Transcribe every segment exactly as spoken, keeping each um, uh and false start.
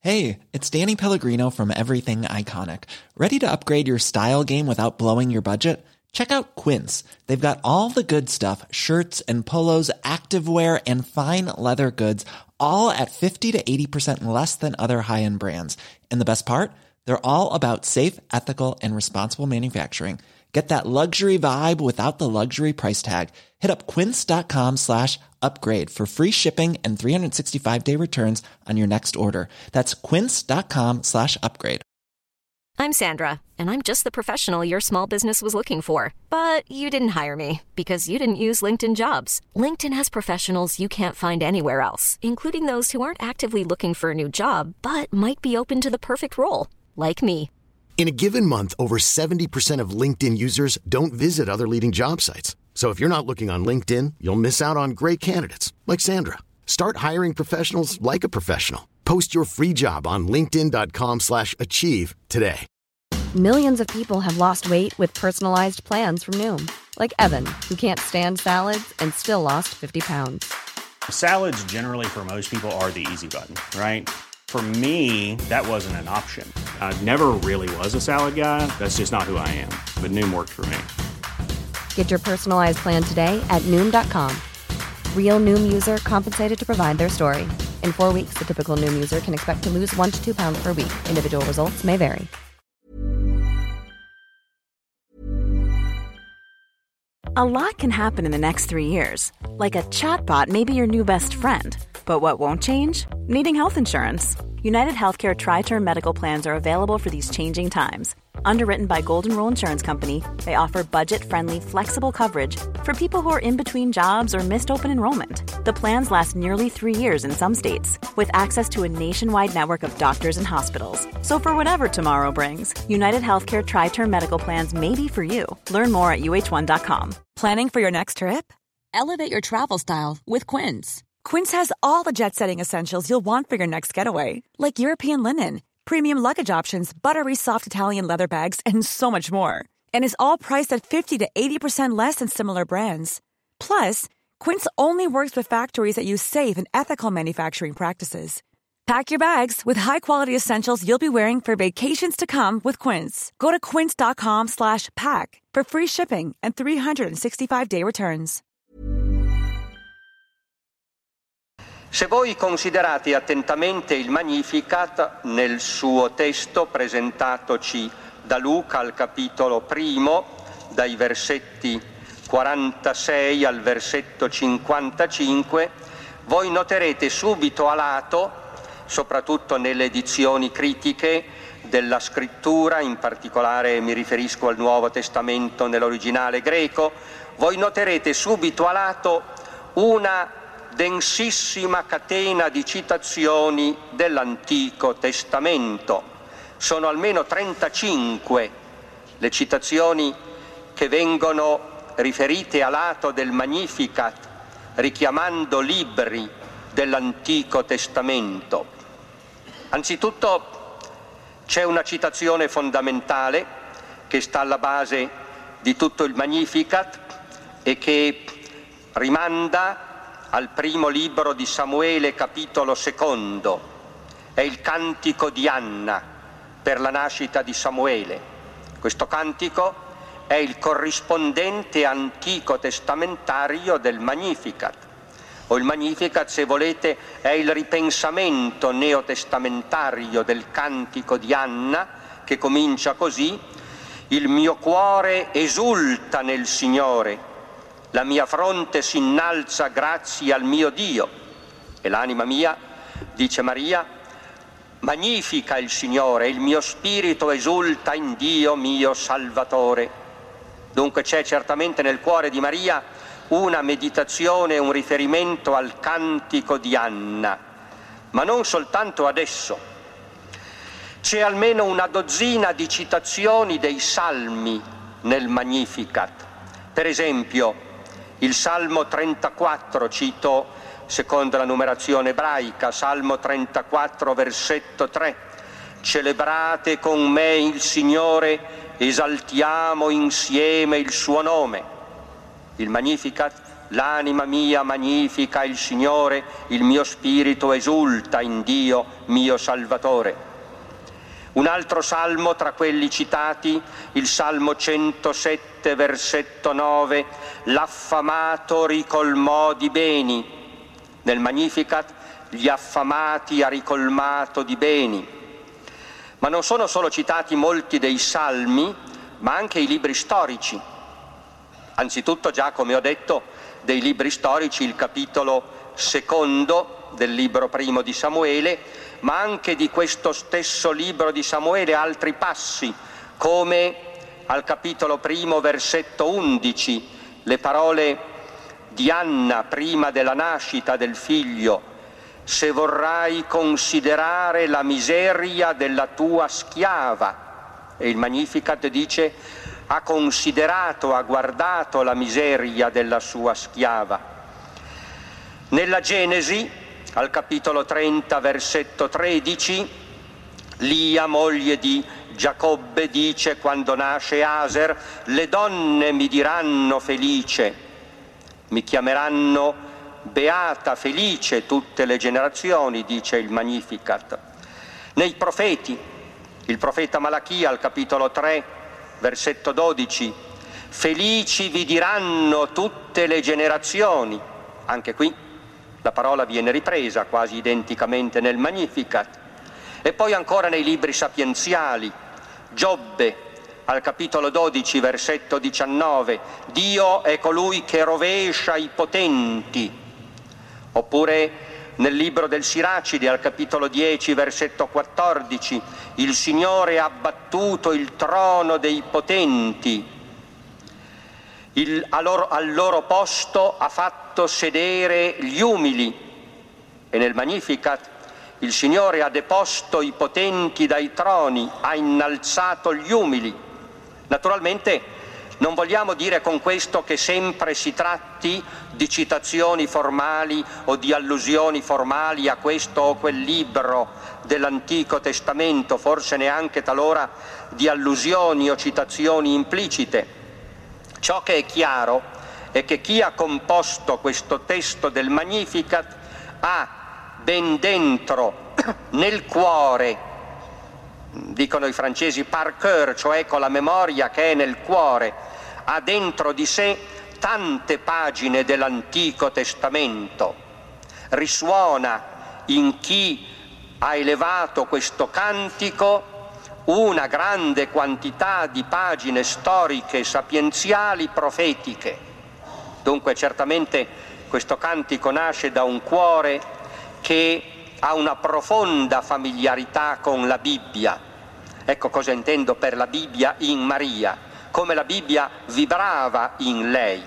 Hey, it's Danny Pellegrino from Everything Iconic. Ready to upgrade your style game without blowing your budget? Check out Quince. They've got all the good stuff, shirts and polos, activewear, and fine leather goods, all at fifty to eighty percent less than other high-end brands. And the best part? They're all about safe, ethical, and responsible manufacturing. Get that luxury vibe without the luxury price tag. Hit up quince.com slash upgrade for free shipping and three sixty-five day returns on your next order. That's quince.com slash upgrade. I'm Sandra, and I'm just the professional your small business was looking for. But you didn't hire me because you didn't use LinkedIn Jobs. LinkedIn has professionals you can't find anywhere else, including those who aren't actively looking for a new job, but might be open to the perfect role, like me. In a given month, over seventy percent of LinkedIn users don't visit other leading job sites. So if you're not looking on LinkedIn, you'll miss out on great candidates like Sandra. Start hiring professionals like a professional. Post your free job on linkedin.com slash achieve today. Millions of people have lost weight with personalized plans from Noom. Like Evan, who can't stand salads and still lost fifty pounds. Salads generally for most people are the easy button, right? For me, that wasn't an option. I never really was a salad guy. That's just not who I am. But Noom worked for me. Get your personalized plan today at Noom dot com. Real Noom user compensated to provide their story. In four weeks, the typical Noom user can expect to lose one to two pounds per week. Individual results may vary. A lot can happen in the next three years. Like a chatbot may be your new best friend. But what won't change? Needing health insurance. United Healthcare Tri-Term Medical Plans are available for these changing times. Underwritten by Golden Rule Insurance Company, they offer budget-friendly, flexible coverage for people who are in between jobs or missed open enrollment. The plans last nearly three years in some states, with access to a nationwide network of doctors and hospitals. So for whatever tomorrow brings, United Healthcare Tri-Term Medical Plans may be for you. Learn more at U H one dot com. Planning for your next trip? Elevate your travel style with Quince. Quince has all the jet-setting essentials you'll want for your next getaway, like European linen, premium luggage options, buttery soft Italian leather bags, and so much more. And is all priced at fifty to eighty percent less than similar brands. Plus, Quince only works with factories that use safe and ethical manufacturing practices. Pack your bags with high-quality essentials you'll be wearing for vacations to come with Quince. Go to quince.com slash pack for free shipping and three sixty-five day returns. Se voi considerate attentamente il Magnificat nel suo testo presentatoci da Luca al capitolo primo, dai versetti quarantasei al versetto cinquantacinque, voi noterete subito a lato, soprattutto nelle edizioni critiche della scrittura, in particolare mi riferisco al Nuovo Testamento nell'originale greco, voi noterete subito a lato una densissima catena di citazioni dell'Antico Testamento. Sono almeno trentacinque le citazioni che vengono riferite a lato del Magnificat, richiamando libri dell'Antico Testamento. Anzitutto c'è una citazione fondamentale che sta alla base di tutto il Magnificat e che rimanda al primo libro di Samuele, capitolo secondo. È il cantico di Anna per la nascita di Samuele. Questo cantico è il corrispondente antico testamentario del Magnificat. O il Magnificat, se volete, è il ripensamento neotestamentario del cantico di Anna, che comincia così: il mio cuore esulta nel Signore, la mia fronte si innalza grazie al mio Dio, e l'anima mia, dice Maria, magnifica il Signore, il mio spirito esulta in Dio mio Salvatore. Dunque c'è certamente nel cuore di Maria una meditazione, un riferimento al cantico di Anna, ma non soltanto adesso. C'è almeno una dozzina di citazioni dei salmi nel Magnificat. Per esempio, il Salmo trentaquattro, cito secondo la numerazione ebraica, Salmo trentaquattro, versetto tre: celebrate con me il Signore, esaltiamo insieme il suo nome. Il Magnificat l'anima mia magnifica il Signore, il mio spirito esulta in Dio mio Salvatore. Un altro salmo tra quelli citati, il Salmo centosette, versetto nove, l'affamato ricolmò di beni. Nel Magnificat, gli affamati ha ricolmato di beni. Ma non sono solo citati molti dei salmi, ma anche i libri storici. Anzitutto già, come ho detto, dei libri storici il capitolo secondo del libro primo di Samuele, ma anche di questo stesso libro di Samuele altri passi, come al capitolo primo, versetto undici, le parole di Anna prima della nascita del figlio: se vorrai considerare la miseria della tua schiava. E il Magnificat dice: ha considerato, ha guardato la miseria della sua schiava. Nella Genesi, al capitolo trenta, versetto tredici, Lia, moglie di Giacobbe, dice quando nasce Aser: le donne mi diranno felice, mi chiameranno beata, felice tutte le generazioni, dice il Magnificat. Nei profeti, il profeta Malachia al capitolo tre, versetto dodici, felici vi diranno tutte le generazioni. Anche qui la parola viene ripresa quasi identicamente nel Magnificat. E poi ancora nei libri sapienziali, Giobbe al capitolo dodici, versetto diciannove, Dio è colui che rovescia i potenti. Oppure nel libro del Siracide al capitolo dieci, versetto quattordici, il Signore ha abbattuto il trono dei potenti, il, a loro, al loro posto ha fatto sedere gli umili. E nel Magnificat il Signore ha deposto i potenti dai troni, ha innalzato gli umili. Naturalmente non vogliamo dire con questo che sempre si tratti di citazioni formali o di allusioni formali a questo o quel libro dell'Antico Testamento, forse neanche talora di allusioni o citazioni implicite. Ciò che è chiaro è che chi ha composto questo testo del Magnificat ha ben dentro, nel cuore, dicono i francesi par cœur, cioè con la memoria che è nel cuore, ha dentro di sé tante pagine dell'Antico Testamento. Risuona in chi ha elevato questo cantico una grande quantità di pagine storiche, sapienziali, profetiche. Dunque certamente questo cantico nasce da un cuore che ha una profonda familiarità con la Bibbia. Ecco cosa intendo per la Bibbia in Maria, come la Bibbia vibrava in lei.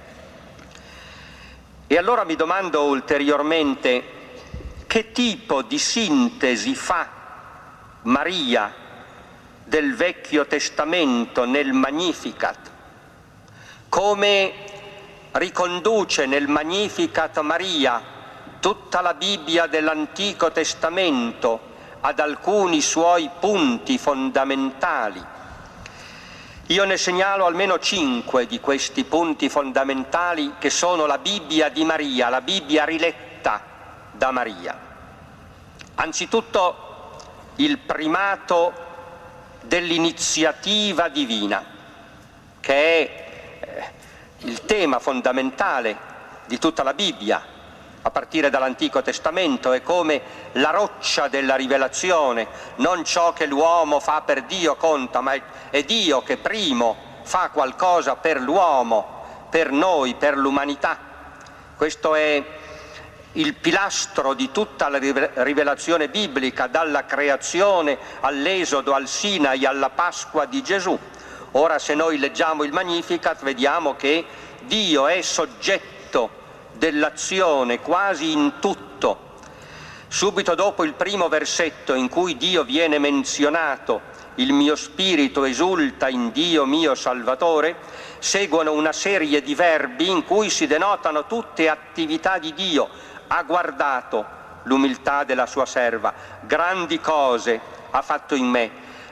E allora mi domando ulteriormente che tipo di sintesi fa Maria del Vecchio Testamento nel Magnificat, come riconduce nel Magnificat Maria tutta la Bibbia dell'Antico Testamento ad alcuni suoi punti fondamentali. Io ne segnalo almeno cinque di questi punti fondamentali che sono la Bibbia di Maria, la Bibbia riletta da Maria. Anzitutto il primato dell'iniziativa divina, che è il tema fondamentale di tutta la Bibbia, a partire dall'Antico Testamento. È come la roccia della rivelazione, non ciò che l'uomo fa per Dio conta, ma è Dio che primo fa qualcosa per l'uomo, per noi, per l'umanità. Questo è il pilastro di tutta la rivelazione biblica, dalla creazione all'Esodo, al Sinai, alla Pasqua di Gesù. Ora, se noi leggiamo il Magnificat, vediamo che Dio è soggetto dell'azione quasi in tutto. Subito dopo il primo versetto in cui Dio viene menzionato, il mio spirito esulta in Dio mio Salvatore, seguono una serie di verbi in cui si denotano tutte attività di Dio. Ha guardato l'umiltà della sua serva, grandi cose ha fatto in me,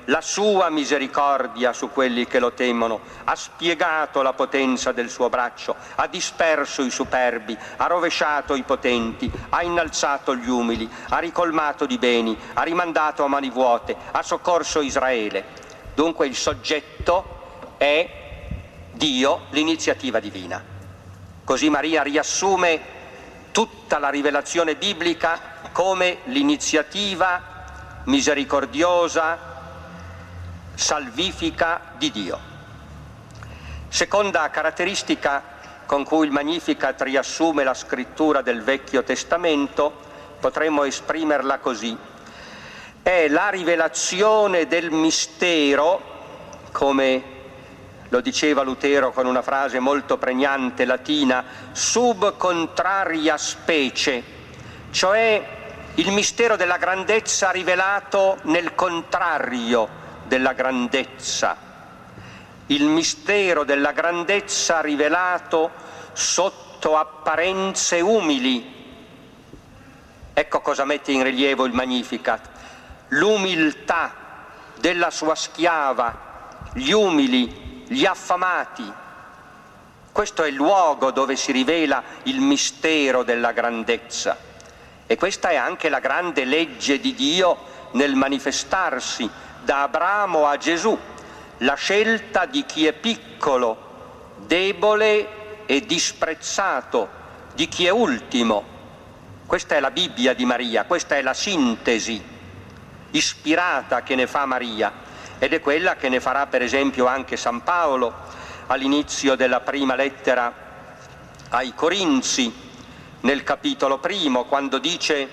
la sua misericordia su quelli che lo temono, ha spiegato la potenza del suo braccio, ha disperso i superbi, ha rovesciato i potenti, ha innalzato gli umili, ha ricolmato di beni, ha rimandato a mani vuote, ha soccorso Israele. Dunque il soggetto è Dio, l'iniziativa divina. Così Maria riassume tutta la rivelazione biblica come l'iniziativa misericordiosa, salvifica di Dio. Seconda caratteristica con cui il Magnificat riassume la scrittura del Vecchio Testamento, potremmo esprimerla così: è la rivelazione del mistero, come lo diceva Lutero con una frase molto pregnante latina, sub contraria specie, cioè il mistero della grandezza rivelato nel contrario della grandezza, il mistero della grandezza rivelato sotto apparenze umili. Ecco cosa mette in rilievo il Magnificat: l'umiltà della sua schiava, gli umili, gli affamati. Questo è il luogo dove si rivela il mistero della grandezza, e questa è anche la grande legge di Dio nel manifestarsi da Abramo a Gesù, la scelta di chi è piccolo, debole e disprezzato, di chi è ultimo. Questa è la Bibbia di Maria, questa è la sintesi ispirata che ne fa Maria, ed è quella che ne farà per esempio anche San Paolo all'inizio della prima lettera ai Corinzi, nel capitolo primo, quando dice: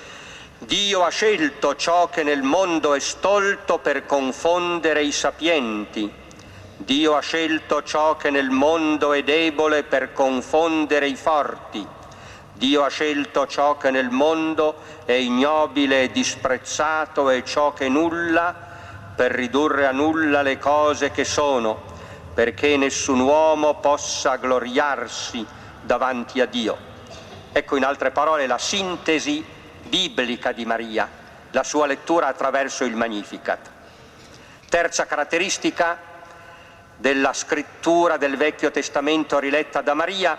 Dio ha scelto ciò che nel mondo è stolto per confondere i sapienti, Dio ha scelto ciò che nel mondo è debole per confondere i forti, Dio ha scelto ciò che nel mondo è ignobile e disprezzato e ciò che nulla, per ridurre a nulla le cose che sono, perché nessun uomo possa gloriarsi davanti a Dio. Ecco, in altre parole, la sintesi biblica di Maria, la sua lettura attraverso il Magnificat. Terza caratteristica della scrittura del Vecchio Testamento riletta da Maria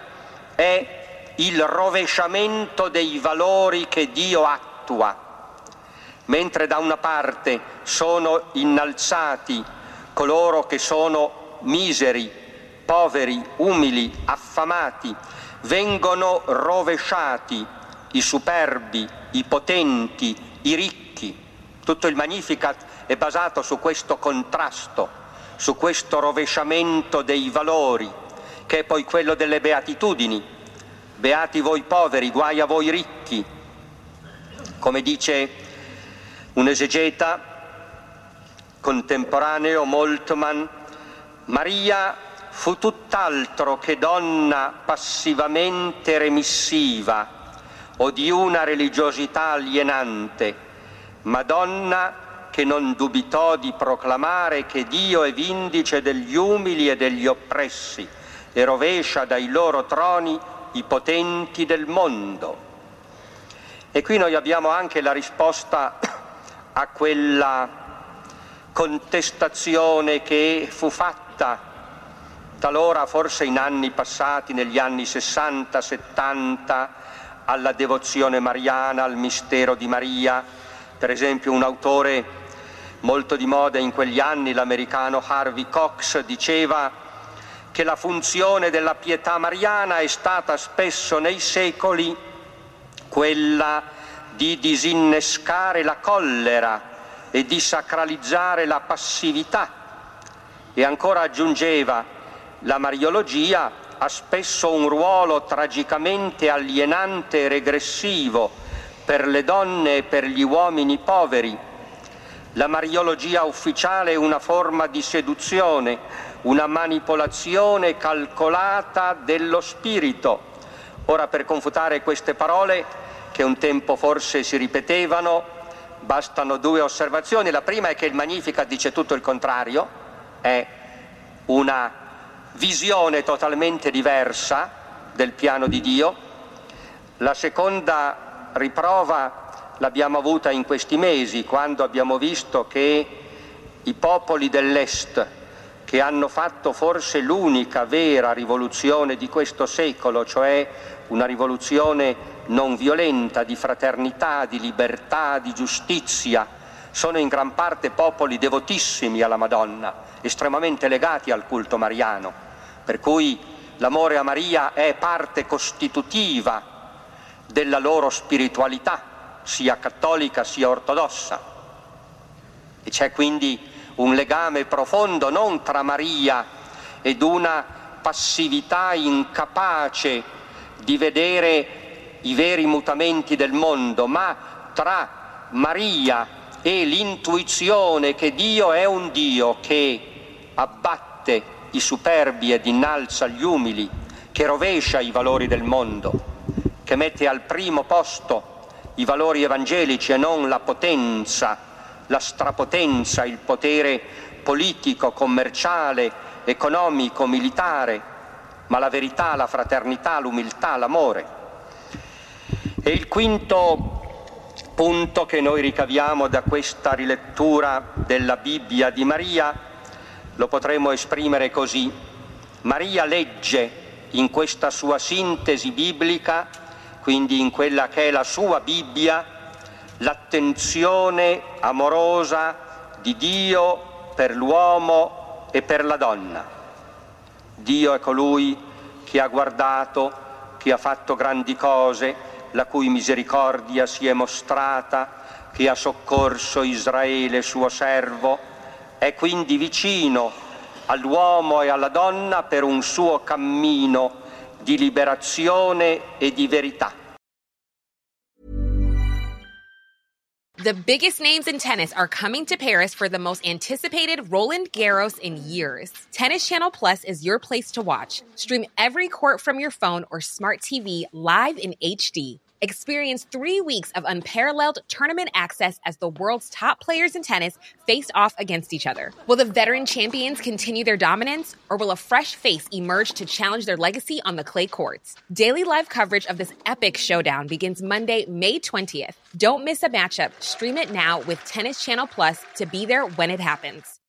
è il rovesciamento dei valori che Dio attua. Mentre da una parte sono innalzati coloro che sono miseri, poveri, umili, affamati, vengono rovesciati i superbi, i potenti, i ricchi. Tutto il Magnificat è basato su questo contrasto, su questo rovesciamento dei valori, che è poi quello delle beatitudini. Beati voi poveri, guai a voi ricchi. Come dice un esegeta contemporaneo, Moltmann, Maria fu tutt'altro che donna passivamente remissiva o di una religiosità alienante, ma donna che non dubitò di proclamare che Dio è vindice degli umili e degli oppressi e rovescia dai loro troni i potenti del mondo. E qui noi abbiamo anche la risposta a quella contestazione che fu fatta talora, forse in anni passati, negli anni sessanta settanta, alla devozione mariana, al mistero di Maria. Per esempio un autore molto di moda in quegli anni, l'americano Harvey Cox, diceva che la funzione della pietà mariana è stata spesso nei secoli quella di disinnescare la collera e di sacralizzare la passività. E ancora aggiungeva: la mariologia ha spesso un ruolo tragicamente alienante e regressivo per le donne e per gli uomini poveri. La mariologia ufficiale è una forma di seduzione, una manipolazione calcolata dello spirito. Ora, per confutare queste parole, che un tempo forse si ripetevano, bastano due osservazioni. La prima è che il Magnificat dice tutto il contrario, è una visione totalmente diversa del piano di Dio. La seconda riprova l'abbiamo avuta in questi mesi, quando abbiamo visto che i popoli dell'Est, che hanno fatto forse l'unica vera rivoluzione di questo secolo, cioè una rivoluzione non violenta, di fraternità, di libertà, di giustizia, sono in gran parte popoli devotissimi alla Madonna, estremamente legati al culto mariano, per cui l'amore a Maria è parte costitutiva della loro spiritualità, sia cattolica sia ortodossa. E c'è quindi un legame profondo non tra Maria ed una passività incapace di vedere i veri mutamenti del mondo, ma tra Maria e l'intuizione che Dio è un Dio che abbatte i superbi ed innalza gli umili, che rovescia i valori del mondo, che mette al primo posto i valori evangelici e non la potenza, la strapotenza, il potere politico, commerciale, economico, militare, ma la verità, la fraternità, l'umiltà, l'amore. E il quinto punto che noi ricaviamo da questa rilettura della Bibbia di Maria lo potremmo esprimere così: Maria legge in questa sua sintesi biblica, quindi in quella che è la sua Bibbia, l'attenzione amorosa di Dio per l'uomo e per la donna. Dio è colui che ha guardato, che ha fatto grandi cose, la cui misericordia si è mostrata, che ha soccorso Israele suo servo, è quindi vicino all'uomo e alla donna per un suo cammino di liberazione e di verità. The biggest names in tennis are coming to Paris for the most anticipated Roland Garros in years. Tennis Channel Plus is your place to watch. Stream every court from your phone or smart T V live in H D. Experience three weeks of unparalleled tournament access as the world's top players in tennis face off against each other. Will the veteran champions continue their dominance, or will a fresh face emerge to challenge their legacy on the clay courts? Daily live coverage of this epic showdown begins Monday, May twentieth. Don't miss a matchup. Stream it now with Tennis Channel Plus to be there when it happens.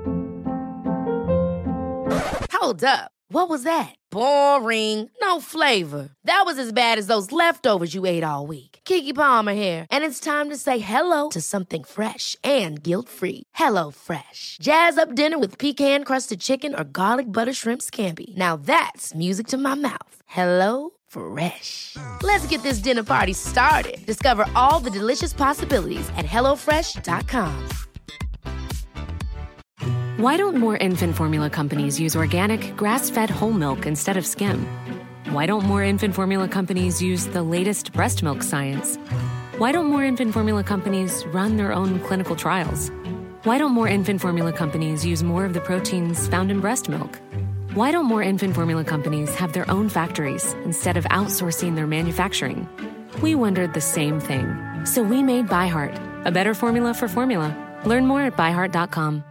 Hold up. What was that? Boring. No flavor. That was as bad as those leftovers you ate all week. Keke Palmer here, and it's time to say hello to something fresh and guilt-free. Hello Fresh. Jazz up dinner with pecan-crusted chicken or garlic butter shrimp scampi. Now that's music to my mouth. Hello Fresh. Let's get this dinner party started. Discover all the delicious possibilities at hello fresh dot com. Why don't more infant formula companies use organic, grass-fed whole milk instead of skim? Why don't more infant formula companies use the latest breast milk science? Why don't more infant formula companies run their own clinical trials? Why don't more infant formula companies use more of the proteins found in breast milk? Why don't more infant formula companies have their own factories instead of outsourcing their manufacturing? We wondered the same thing. So we made ByHeart, a better formula for formula. Learn more at by heart dot com.